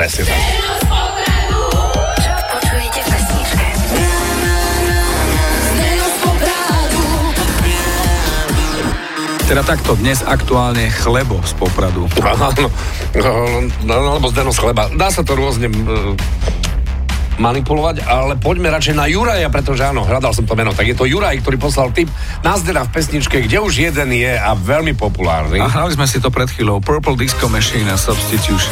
Presne tak. Čo počujete v pesničke? Teda takto, dnes aktuálne Chlebo z Popradu. Alebo Zdeno z chleba. Dá sa to rôzne manipulovať, ale poďme radšej na Juraja, pretože áno, hľadal som to meno. Tak je to Juraj, ktorý poslal tip na Zdena v pesničke, kde už jeden je a veľmi populárny. A hrali sme si to pred chvíľou. Purple Disco Machine a Substitution.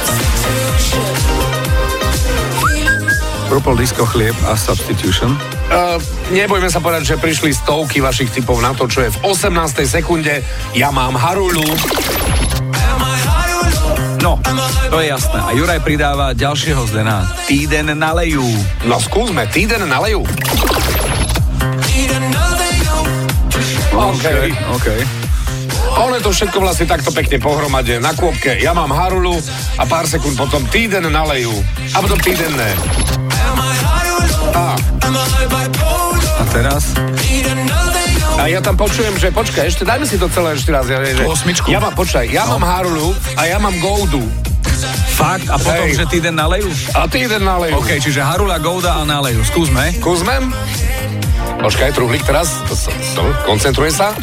Purple Disco Chlieb a Substitution. Nebojme sa povedať, že prišli stovky vašich tipov na to, čo je v 18. sekunde. Ja mám Harulu. No, to je jasné. A Juraj pridáva ďalšieho Zdena. Týden na leju. No skúsme, Týden na leju. OK. Ono je to všetko vlastne takto pekne pohromade. Na kôpke ja mám Harulu a pár sekúnd potom Týden na leju. A potom Týden ne. A teraz? A ja tam počujem, že počkaj, ešte dajme si to celé ešte raz. Osmičku. Ja mám Harulu a ja mám Goldu. Fakt? A potom, Hej. že Týden na leju? A Týden na leju. OK, čiže Harula, Golda a na leju. Skúsme. Kúsmem? Počkaj, truhlík teraz. Koncentruje sa.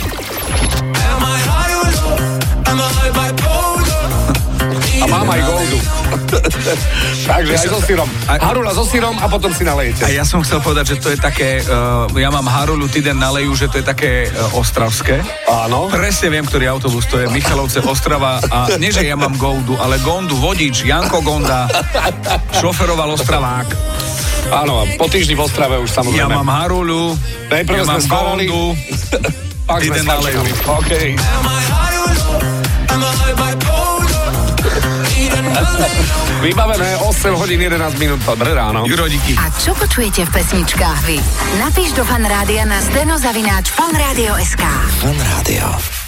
A mám aj Goldu. Takže aj so syrom. Harula so syrom a potom si nalejete. A ja som chcel povedať, že to je také, ja mám Harulu, Týden na leju, že to je také ostravské. Áno. Presne viem, ktorý autobus, to je Michalovce, Ostrava a nie, že ja mám Goldu, ale Gondu, vodič, Janko Gonda, šoferoval Ostravák. Áno, po týždni v Ostrave už samozrejme. Ja mám Harulu, Najprv ja mám Gondu, pak sme Týden na leju. OK. Vybavené 8 hodín 11 minút. Dobré ráno. Juro, díky. A čo počujete v pesničkách vy? Napíš do Fanrádia na zdeno@fanradio.sk. Fan Rádio.